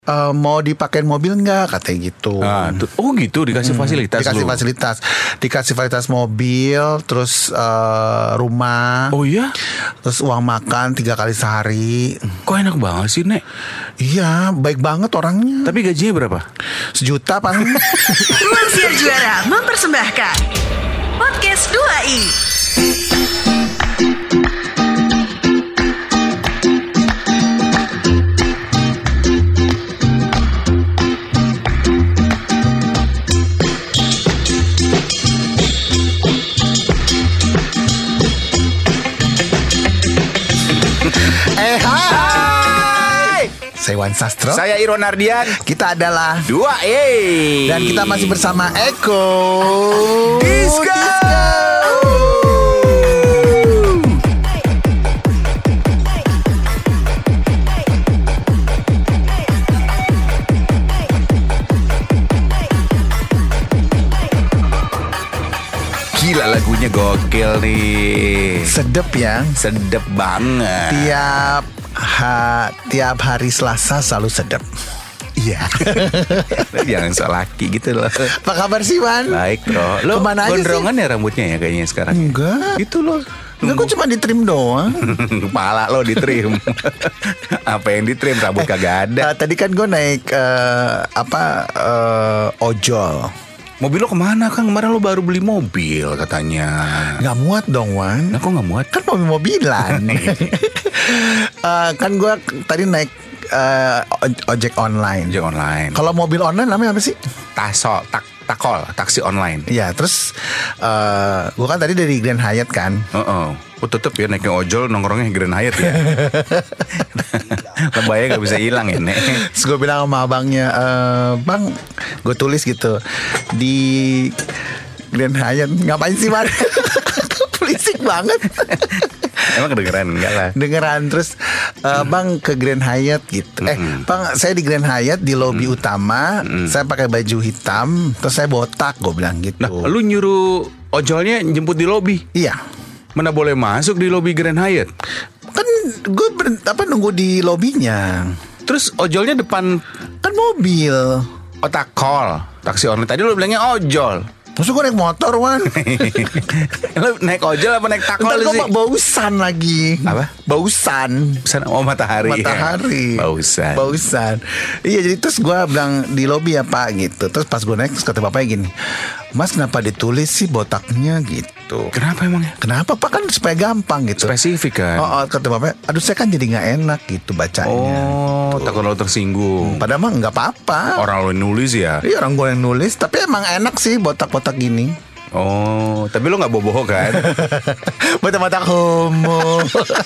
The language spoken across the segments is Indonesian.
Mau dipakein mobil nggak katanya gitu. Oh gitu, dikasih fasilitas. Dikasih fasilitas mobil, terus rumah. Oh iya. Terus uang makan 3 kali sehari. Kok enak banget sih, Nek? Iya, baik banget orangnya. Tapi gajinya berapa? 1 juta paling. Ruang Siar Juara mempersembahkan Podcast 2i. Hai. Saya Wan Sastro. Saya Iron Ardian. Kita adalah 2i. dan kita masih bersama Eko Disco. Gila, lagunya gokil nih. Sedep ya. Sedep banget. Tiap hari Selasa selalu sedep. Iya. Jangan so laki gitu loh. Apa kabar sih, Wan? Baik, bro. Lo Kemana aja gondrongan ya rambutnya ya kayaknya sekarang? Enggak. Itu loh. Enggak, kok cuma ditrim doang. Kepala lo ditrim. Apa yang ditrim? Rambut kagak ada. Tadi kan gue naik ojol. Mobil lo kemana, Kang? Kemarin lo baru beli mobil katanya. Nggak muat dong, Wan. Nah, kok nggak muat? Kan mobil-mobilan. Kan gue tadi naik ojek online. Ojek online. Kalau mobil online namanya apa sih? Takol, taksi online. Iya, terus gue kan tadi dari Grand Hyatt kan. Oh, tetep ya naiknya ojol nongkrongnya Grand Hyatt ya. Lebaynya gak bisa hilang ya, Nek. Terus gue bilang sama abangnya, Bang, gue tulis gitu di Grand Hyatt. Ngapain sih, Mar? Berisik banget. Emang kedengeran? Enggak lah. Dengeran. Terus Bang ke Grand Hyatt gitu. Bang, saya di Grand Hyatt di lobi utama. Saya pakai baju hitam. Terus saya botak, gue bilang gitu. Nah, lu nyuruh ojolnya jemput di lobi? Iya. Mana boleh masuk di lobi Grand Hyatt? Kan gue nunggu di lobinya. Terus ojolnya depan Kan mobil. takol, taksi online. Tadi lu bilangnya ojol. Maksud gue naik motor, Wan. Lu naik ojol apa naik takol Ntar sih? gue bausan lagi. Apa? Bausan. Matahari. Matahari. Bausan. Iya, jadi terus gue bilang di lobi ya, Pak, gitu. Terus pas gue naik, terus kata bapaknya gini, Mas, kenapa ditulis sih botaknya gitu? Kenapa emangnya? Kenapa, Pak? Kan supaya gampang gitu. Spesifik kan? Oh, kata bapaknya, aduh saya kan jadi gak enak gitu bacanya. Oh, takut lo tersinggung. Padahal mah gak apa-apa. Orang lo nulis ya? Iya, orang gue yang nulis. Tapi emang enak sih botak-botak gini. Oh, tapi lo gak boboho kan? Botak-botak homo.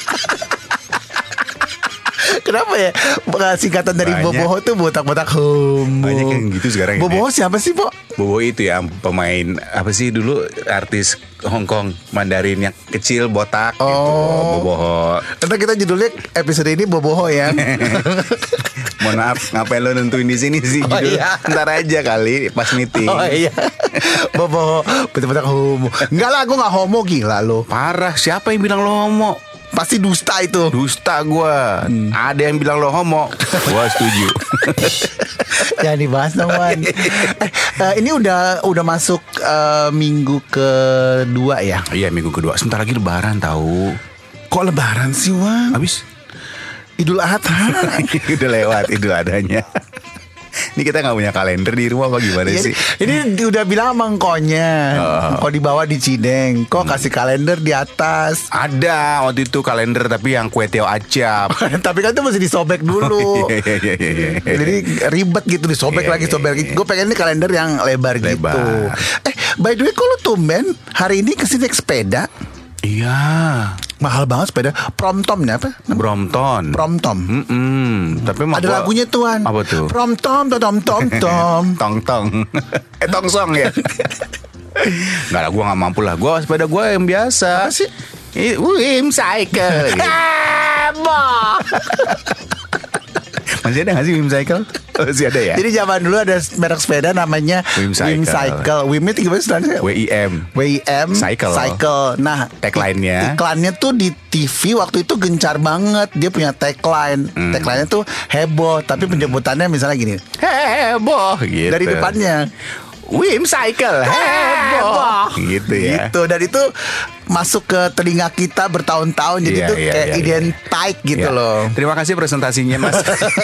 Kenapa ya singkatan dari Banyak. boboho tuh botak-botak homo. Banyak yang gitu sekarang. Boboho siapa sih, Po? Bobo itu ya pemain apa sih dulu artis Hong Kong Mandarin yang kecil botak gitu. Boboho. Nanti kita judulnya episode ini boboho ya. Mohon maaf, ngapain lo nentuin di sini sih judul? Iya. Ntar aja kali pas meeting. Oh iya. Boboho, botak-botak homo. Enggak lah, gue gak homo, gila lo. Parah, siapa yang bilang lo homo? Pasti dusta itu. Dusta gua. Ada yang bilang lo homo. Gua setuju. Jangan dibahas dong, Wan. Ini udah masuk minggu kedua ya. Iya, minggu kedua. Sebentar lagi lebaran tahu. Kok lebaran sih, Wan? Habis Idul Adha. udah lewat Idul Adhanya. Ini kita gak punya kalender di rumah apa gimana sih? Ini udah bilang sama engkonya. Kok dibawa di Cideng. Kok kasih kalender di atas. Ada waktu itu kalender tapi yang kue teo acap. Tapi kan itu mesti disobek dulu. Iya. Jadi ribet gitu, disobek lagi. Gue pengen ini kalender yang lebar gitu. By the way, kok lu tumben hari ini kesini naik sepeda? Iya. Mahal banget sepeda. Promtom nih apa? Brompton. Promtom. Tapi Ada lagunya tuan. Apa tuh? Promtom, tom. Tong. Tongsong ya. Enggak lah, gue gak mampu lah. Gue sepeda gue yang biasa. Apa sih? Wim Cycle. Boh. Masih ada gak sih Wim Cycle? Masih ada ya? Jadi zaman dulu ada merek sepeda namanya Wim Cycle. Wimnya gimana sebenarnya? WIM Cycle. Nah, tagline-nya tuh di TV waktu itu gencar banget. Dia punya tagline. Tagline-nya tuh heboh, tapi penyebutannya misalnya gini. heboh gitu. Dari depannya Wim Cycle heboh gitu ya. Gitu. Dan itu masuk ke telinga kita bertahun-tahun. Jadi itu kayak identik gitu loh. Terima kasih presentasinya Mas.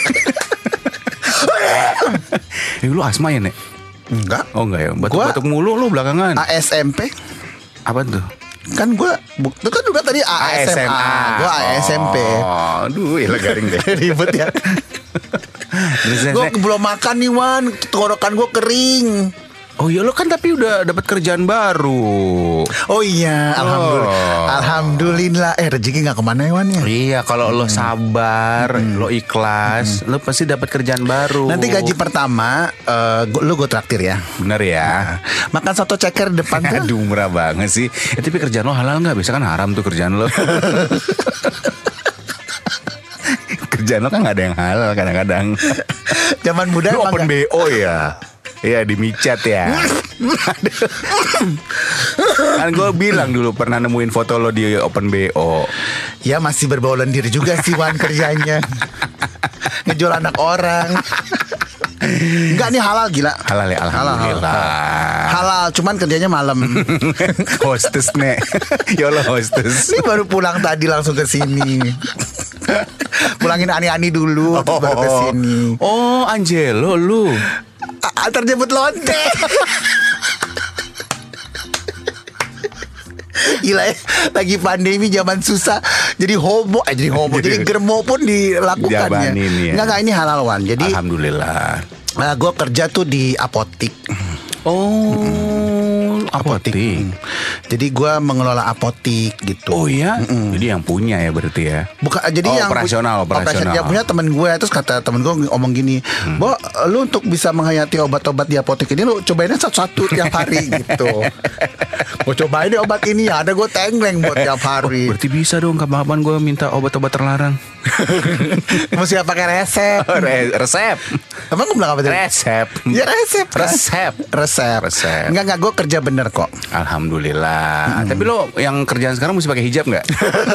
Lu asma ya Nek? Enggak. Oh enggak ya. Batuk-batuk mulu lu belakangan. ASMP. Apa tuh? Kan gue itu kan juga tadi ASMA. Gue ASMP. Oh, aduh, ya garing deh. Ribet ya. Gue belum makan nih Wan. Tenggorokan gue kering. Oh iya lo kan tapi udah dapat kerjaan baru. Oh iya, alhamdulillah. Rezeki nggak kemana ya Wan ya. Iya, kalau lo sabar, lo ikhlas, lo pasti dapat kerjaan baru. Nanti gaji pertama, lo gue traktir ya. Bener ya. Makan soto ceker depan tuh. Aduh, murah banget sih. Tapi kerjaan lo halal nggak? Biasa kan haram tuh kerjaan lo. Kerjaan lo kan nggak ada yang halal kadang-kadang. Zaman muda lo open BO ya. Iya di micet ya. Kan gue bilang dulu pernah nemuin foto lo di open BO. Ya masih berbau lendir juga sih Wan kerjanya. Ngejual anak orang. Enggak nih halal gila. Halal ya alhamdulillah. Halal cuman kerjanya malam. Hostess Nek. Ya Allah hostess. Ini baru pulang tadi langsung ke sini. Pulangin ani-ani dulu terus baru ke sini. Oh Angelo lu. Terjebut lonte. Gila ya, lagi pandemi zaman susah. Jadi jadi germo pun dilakukan ya. Enggak ini halal Wan. Jadi alhamdulillah. Gue kerja tuh di apotik. Oh, apotik. Jadi gue mengelola apotik gitu. Oh iya. Jadi yang punya ya berarti ya. Bukan, jadi yang operasional. Yang punya temen gue. Terus kata temen gue ngomong gini, Bo, lu untuk bisa menghayati obat-obat di apotik ini lu cobainnya satu-satu tiap hari gitu. Gue cobain deh obat ini ya. Ada gue tengleng buat tiap hari. Berarti bisa dong kapan-kapan gue minta obat-obat terlarang. Mesti pakai resep. Resep. Emang gue bilang apa tadi? Resep. Ya resep. Resep. Enggak gue kerja bener kok. Alhamdulillah. Tapi lo yang kerjaan sekarang mesti pakai hijab nggak?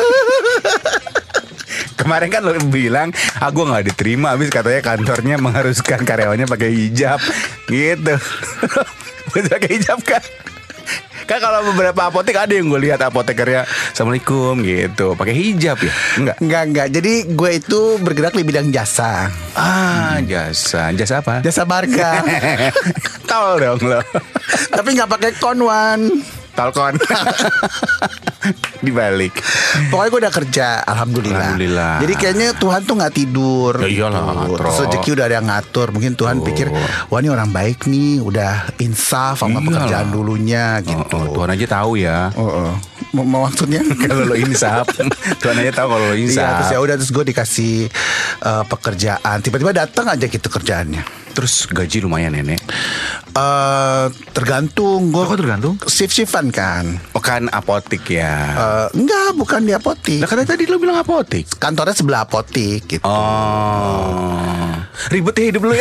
Kemarin kan lo bilang, gue nggak diterima, habis katanya kantornya mengharuskan karyawannya pakai hijab, gitu. Mesti pakai hijab kan? Kan kalau beberapa apotek ada yang gue lihat apotekernya Assalamualaikum gitu pakai hijab ya? Enggak. Jadi gue itu bergerak di bidang jasa. Jasa apa? Jasa marga. Tol dong lo. Tapi nggak pakai konwan. Talkon. Dibalik. Pokoknya gue udah kerja, alhamdulillah. Jadi kayaknya Tuhan tuh nggak tidur. Ya iyalah. Rezeki udah ada yang ngatur. Mungkin Tuhan pikir, wah ini orang baik nih, udah insaf sama pekerjaan dulunya gitu. Tuhan aja tahu ya. Maksudnya kalau lo insaf, Tuhan aja tahu kalau lo insaf. Iya, terus ya udah terus gue dikasih pekerjaan. Tiba-tiba datang aja gitu kerjaannya. Terus gaji lumayan Nenek? Tergantung. Kok tergantung? Shift-shiftan kan. Bukan apotik ya? Enggak, bukan di apotik. Nah katanya tadi lo bilang apotik. Kantornya sebelah apotik gitu. Ribet ya hidup lo ya.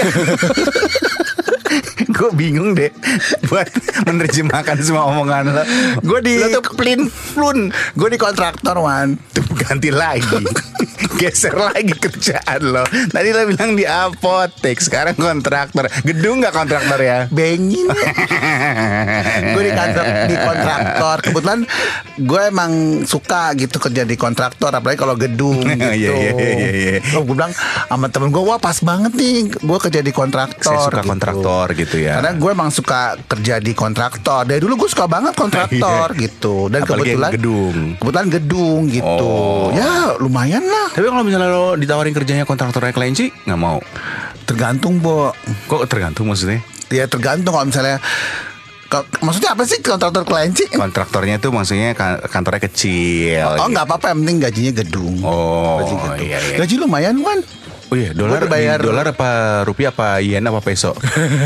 Gue bingung deh buat menerjemahkan semua omongan lo. Gue di plun. Gue di kontraktor Wan. Tuh ganti lagi. Geser lagi kerjaan lo. Tadi lo bilang di apotek, sekarang kontraktor. Gedung gak kontraktor ya? Bengin. Gue di kontraktor. Kebetulan gue emang suka gitu kerja di kontraktor, apalagi kalau gedung gitu. Iya. Gue bilang sama temen gue, wah pas banget nih gue kerja di kontraktor. Saya suka gitu. Kontraktor gitu ya. Karena gue emang suka kerja di kontraktor. Dari dulu gue suka banget kontraktor gitu. Dan apalagi kebetulan gedung gitu. Ya lumayan lah. Tapi kalau misalnya lo ditawarin kerjanya kontraktornya Kelenci, nggak mau? Tergantung, Bo. Kok tergantung maksudnya? Ya tergantung kalau misalnya. Maksudnya apa sih kontraktor Kelenci? Kontraktornya tuh maksudnya kantornya kecil. Oh nggak apa-apa, yang penting gajinya gedung. Iya. Gaji lumayan kan? Oh iya, dolar apa rupiah apa yen apa peso?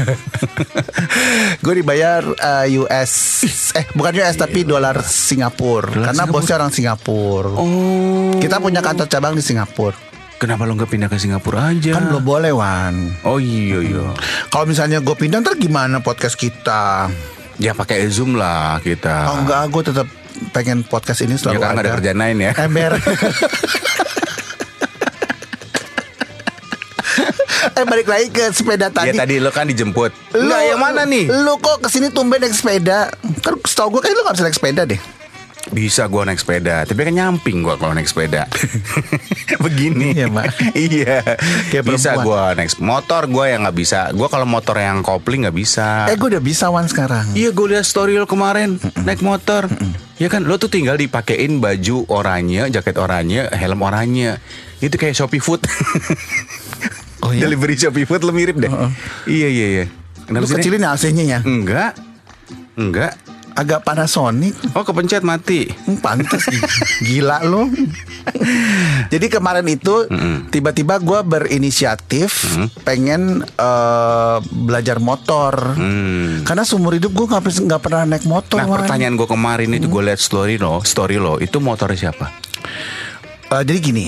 Gue dibayar US, bukan US tapi dolar Singapura. Karena bosnya orang Singapura. Oh. Kita punya kantor cabang di Singapura. Kenapa lo nggak pindah ke Singapura aja? Kan belum boleh, Wan. Oh iya. Kalau misalnya gue pindah ntar gimana podcast kita? Ya pakai Zoom lah kita. Oh enggak, gue tetap pengen podcast ini Ya selalu karena ada kerjaan lain ya. Ember. Balik lagi ke sepeda tadi. Ya tadi lo kan dijemput. Enggak, yang mana nih? Lu kok kesini tumben naik sepeda? Kan setahu gue kayak lu gak bisa naik sepeda deh. Bisa gue naik sepeda, tapi kan nyamping gue kalau naik sepeda. Begini. Iya, Mak. Iya. Kayak Bisa perempuan. gue naik motor, gue yang nggak bisa. Gue kalau motor yang kopling nggak bisa. Gue udah bisa, Wan, sekarang. Iya, gue lihat story lo kemarin naik motor. Ya kan, lo tuh tinggal dipakein baju oranye, jaket oranye, helm oranye. Itu kayak Shopee Food. Oh iya? Delivery Shopee Food lo mirip deh. Iya. Lu sih, Nek? kecilin ya AC-nya ya? Enggak. Agak Panasonic. Oh, kepencet mati. Pantes. Gila lu. Jadi kemarin itu tiba-tiba gue berinisiatif pengen belajar motor. Karena seumur hidup gue nggak pernah naik motor. Nah, Wan. pertanyaan gue kemarin itu gue lihat story lo, itu motornya siapa? Jadi gini.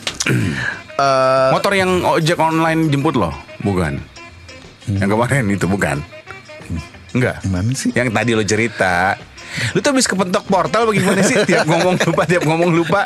Motor yang ojek online jemput lo, bukan? Yang kemarin itu bukan? Enggak. Gimana sih? Yang tadi lo cerita. Lu tuh habis kepentok portal bagaimana sih? Tiap ngomong lupa.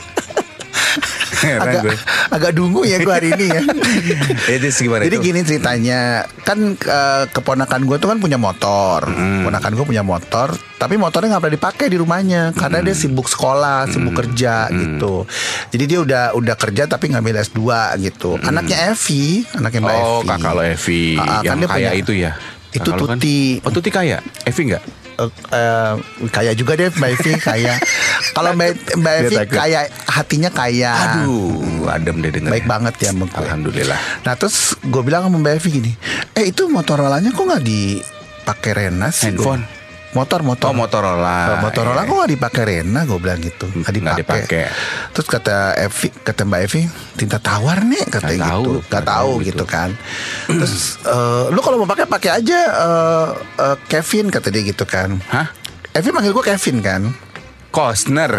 agak dungu ya gue hari ini ya. Itu gimana? Jadi itu? gini ceritanya. Kan keponakan gue tuh kan punya motor. Keponakan gue punya motor, tapi motornya gak pernah dipakai di rumahnya karena dia sibuk sekolah, sibuk kerja gitu. Jadi dia udah kerja tapi ngambil S2 gitu. Anaknya Mbak Evi. Oh, kakak lo Evi kan yang dia kaya punya- itu ya? Itu Kakak lo kan? Tuti. Oh, Tuti kaya? Evi enggak? Kaya juga deh Mbak Evi kaya. Kalau Mbak Evi Dia takut. kaya, hatinya kaya. Aduh, adem deh denger. Baik banget ya Mbak. Alhamdulillah. Nah terus gue bilang sama Mbak Evi gini, itu Motorolanya kok nggak dipakai Rena sih? Handphone? Motor. Oh, Motorola. Motorola kok nggak dipakai Rena? Gue bilang gitu. Nggak dipakai. Terus kata Mbak Evi, tinta tawar nih katanya gitu. Nggak tahu gitu kan. Terus lu kalau mau pakai aja Kevin kata dia gitu kan. Hah? Evi manggil gue Kevin kan. Costner.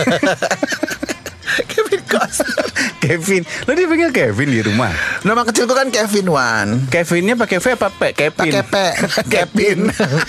Kevin Costner. Kevin. Lo dipanggil Kevin di rumah? Nama kecil gue kan Kevin Wan. Kevinnya pakai V apa P? Kevin. Pakai P. Kevin.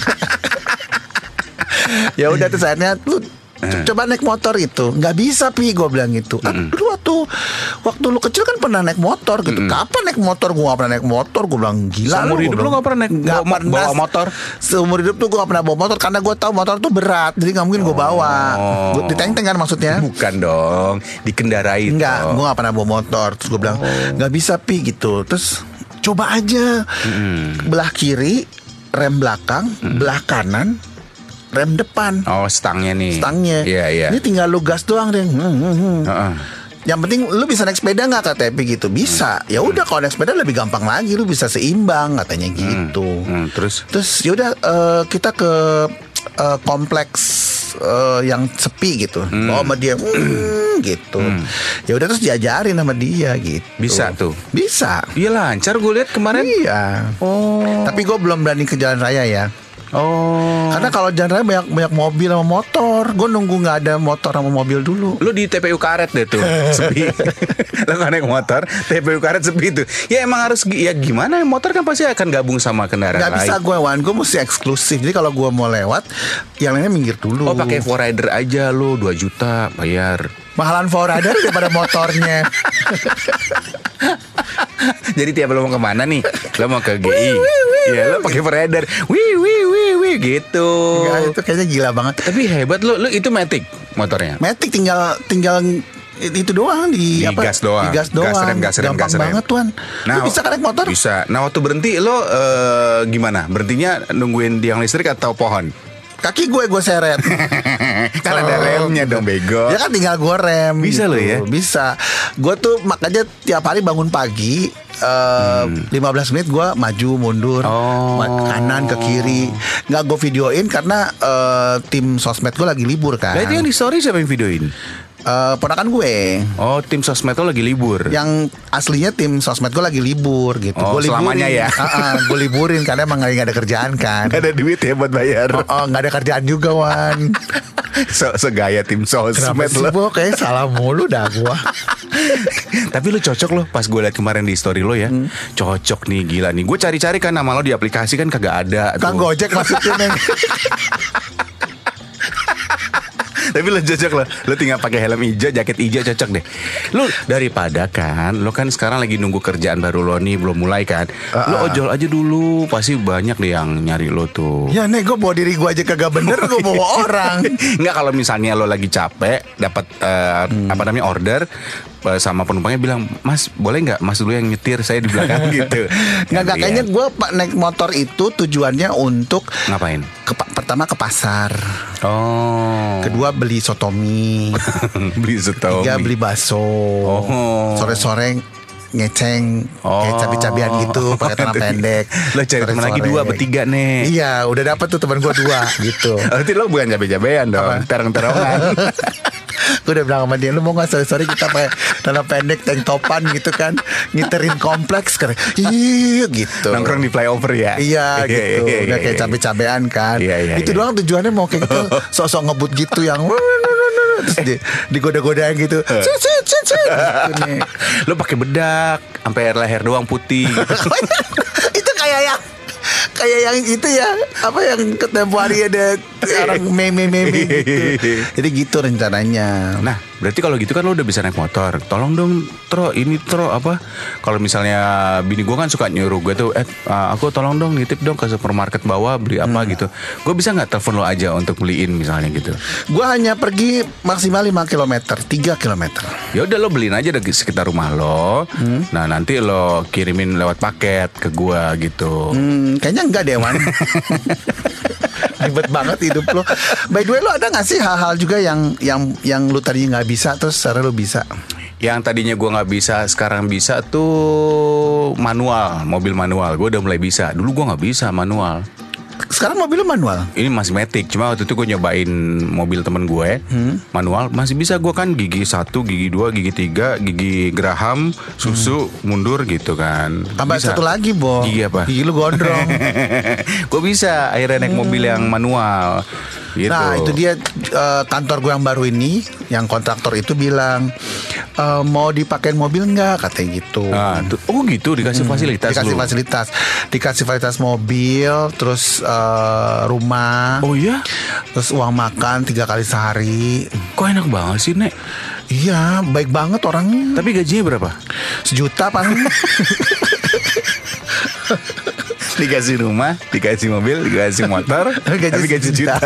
Ya udah terus akhirnya lu coba naik motor itu. Nggak bisa Pi, gue bilang gitu. Lu waktu lu kecil kan pernah naik motor gitu. Kapan naik motor? Gue gak pernah naik motor. Gue bilang gila. Seumur hidup lu gak pernah naik bawa motor? Seumur hidup tuh gue gak pernah bawa motor karena gue tahu motor tuh berat. Jadi gak mungkin gue bawa. Diteng-teng kan maksudnya? Bukan dong, dikendarai. Enggak, gue gak pernah bawa motor. Terus gue bilang gak bisa Pi gitu. Terus coba aja belah kiri rem belakang, belah kanan rem depan. Oh, stangnya nih. Stangnya. Iya. Ini tinggal lu gas doang deh. Heeh. Yang penting lu bisa naik sepeda nggak kata Epi gitu. Bisa. Ya udah kalau naik sepeda lebih gampang lagi. Lu bisa seimbang katanya gitu. Terus ya udah kita ke kompleks yang sepi gitu. Bawa sama dia gitu. Ya udah terus diajarin sama dia gitu. Bisa tuh. Bisa. Iya lancar gue lihat kemarin. Iya. Oh. Tapi gue belum berani ke jalan raya ya. Oh. Karena kalau jalan raya banyak mobil sama motor. Gue nunggu nggak ada motor sama mobil dulu. Lu di TPU Karet deh tuh. Sepi. Lu gak naik motor, TPU Karet sepi tuh. Ya emang harus ya gimana, motor kan pasti akan gabung sama kendaraan Gak lain. bisa gue Wan, gue mesti eksklusif. Jadi kalau gue mau lewat, yang lainnya minggir dulu. Oh, pakai Forrider aja lu 2 juta bayar. Mahalan Forrider daripada motornya. Jadi tiap lo mau kemana nih? Lo mau ke GI? Ya lo pakai Forrider. Wih gitu. Ya, itu kayaknya gila banget. Tapi hebat lo itu Matic motornya. Matic tinggal itu doang Di gas doang. Di gas doang. Gas rem. Gampang banget Tuan. Lu bisa kan naik motor? Bisa. Nah waktu berhenti lo gimana? Berhentinya nungguin tiang listrik atau pohon? Kaki gue seret. Kan ada remnya dong bego. Ya kan tinggal gue rem. Bisa lo ya? Bisa. Gue tuh makanya tiap hari bangun pagi 15 menit gue maju mundur, kanan ke kiri. Nggak gue videoin karena tim sosmed gue lagi libur kan. Nah itu yang di story siapa yang videoin? Ponakan gue. Oh, tim sosmed lo lagi libur. Yang aslinya tim sosmed gue lagi libur gitu. Oh, Gue selamanya ya? Gue liburin karena emang gak ada kerjaan kan. Gak ada duit ya buat bayar. Gak ada kerjaan juga, Wan. Segaya tim sosmed Kenapa sih, lo. Bo? Kayak salah mulu dah gue. Tapi lo cocok lo. Pas gue liat kemarin di story lo ya, cocok nih, gila nih. Gue cari-cari kan nama lo di aplikasi kan kagak ada. Kang Gojek maksudnya, Neng. Tapi lo cocok lo tinggal pakai helm hijau, jaket hijau, cocok deh. Lo daripada kan, lo kan sekarang lagi nunggu kerjaan baru lo nih, belum mulai kan. Lo ojol aja dulu, pasti banyak deh yang nyari lo tuh. Ya Nek, gue bawa diri gue aja kagak bener, gue bawa orang. Nggak, kalau misalnya lo lagi capek, dapat order sama penumpangnya bilang, Mas boleh nggak Mas dulu yang nyetir, saya di belakang gitu. Nggak, kayaknya gue naik motor itu tujuannya untuk ngapain? Pertama ke pasar. Oh. Kedua beli sotomi. Beli sotomi. Tiga beli bakso. Oh. Sore-sore ngeceng kayak cabai-cabian gitu pakai tanah pendek. Lo cari teman lagi 2 bertiga nih. Iya, udah dapet tuh teman gue 2 gitu. Berarti lo bukan cabai-cabian dong, terong-terongan. Gue udah bilang sama dia, lu mau gak sore-sore kita pakai tanah pendek, tank topan gitu kan, ngiterin kompleks kan. Iya gitu. Nongkrong di flyover ya. Iya gitu. Udah kayak cabai-cabean kan. Itu doang tujuannya, mau kayak gitu sok-sok ngebut gitu yang terus digoda-godain gitu. Gitu nih. Lo pakai bedak sampai leher doang putih gitu. Itu kayak yang itu ya, apa yang tempo hari ada orang meme gitu. Jadi gitu rencananya. Nah, berarti kalau gitu kan lo udah bisa naik motor. Tolong dong apa? Kalau misalnya bini gue kan suka nyuruh gue tuh, aku tolong dong nitip dong ke supermarket bawah beli apa gitu. Gue bisa nggak telepon lo aja untuk beliin misalnya gitu? Gue hanya pergi maksimal 5 km, 3 km. Ya udah lo beliin aja dari sekitar rumah lo. Nah nanti lo kirimin lewat paket ke gue gitu. Kayaknya enggak deh, Wan. Ribet banget hidup lo. By the way, lo ada gak sih hal-hal juga yang lo tadinya gak bisa terus sekarang lo bisa? Yang tadinya gue gak bisa, sekarang bisa tuh manual, mobil manual. Gue udah mulai bisa. Dulu gue gak bisa manual. Sekarang mobil lo manual? Ini masih matic. Cuma waktu itu gue nyobain mobil temen gue manual. Masih bisa gue kan gigi 1, gigi 2, gigi 3, gigi geraham, susu, mundur gitu kan. Tambah bisa. satu lagi, Bo. Gigi apa? Gigi lo gondrong. Gue bisa akhirnya naik mobil yang manual gitu. Nah itu dia, kantor gue yang baru ini, yang kontraktor itu bilang, mau dipakein mobil nggak, katanya gitu. Nah, oh gitu, dikasih fasilitas. Dikasih fasilitas mobil, terus rumah. Oh iya? Terus uang makan 3 kali sehari. Kok enak banget sih, Nek? Iya, baik banget orangnya. Tapi gajinya berapa? 1 juta paling. Dikasih rumah, dikasih mobil, dikasih motor, tapi gaji juta.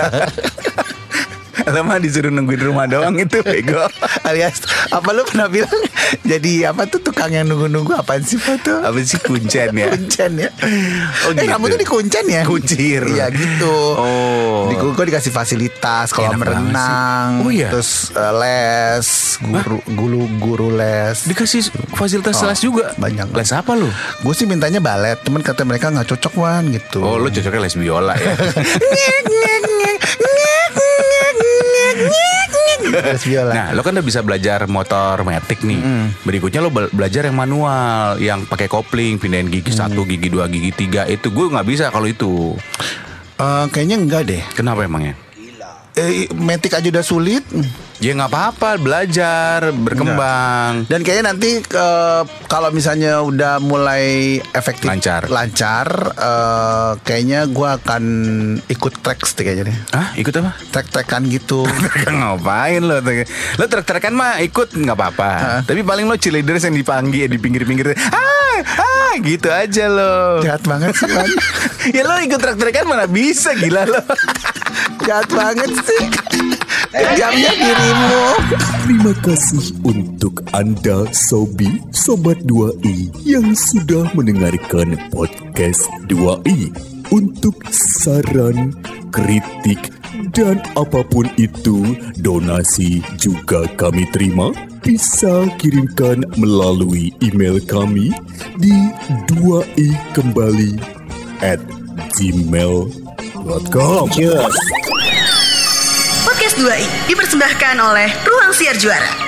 Lama disuruh nungguin rumah doang itu bego. Alias apa lu pernah bilang jadi apa tuh tukang yang nunggu-nunggu apaan sih foto? Apa sih kuncen ya? Kuncen ya. Oh gitu. Rambutnya dikuncen ya? Kuncir. Iya gitu. Oh. Gue dikasih fasilitas kolam renang. Oh iya. Terus les, guru les. Dikasih fasilitas les juga. Banyak. Les apa lu? Gue sih mintanya balet, temen kata mereka nggak cocok, Wan, gitu. Oh, lu cocoknya les biola ya. Nah, lo kan udah bisa belajar motor matic nih. Berikutnya lo belajar yang manual, yang pakai kopling, pindahin gigi 1, gigi 2, gigi 3. Itu gue nggak bisa kalau itu. Kayaknya enggak deh. Kenapa emangnya? Matic aja udah sulit. Ya nggak apa-apa, belajar, berkembang. Dan kayaknya nanti kalau misalnya udah mulai efektif lancar, kayaknya gue akan ikut treks deh kayaknya deh. Ah, ikut apa? Trek-trekan gitu. Ngapain lo? Lo trek-trekan mah ikut nggak apa-apa. Tapi paling lo cheerleaders yang dipanggil di pinggir-pinggir. Gitu aja lo. Jahat banget sih, Man. Ya lo ikut trek-trekan mana bisa, gila lo. Jahat banget sih. Jamnya dirimu. Terima kasih untuk Anda Sobi Sobat 2i yang sudah mendengarkan podcast 2i. Untuk saran, kritik, dan apapun itu, donasi juga kami terima. Bisa kirimkan melalui email kami di 2ikembali@gmail.com. Podcast 2i dipersembahkan oleh Ruang Siar Juara.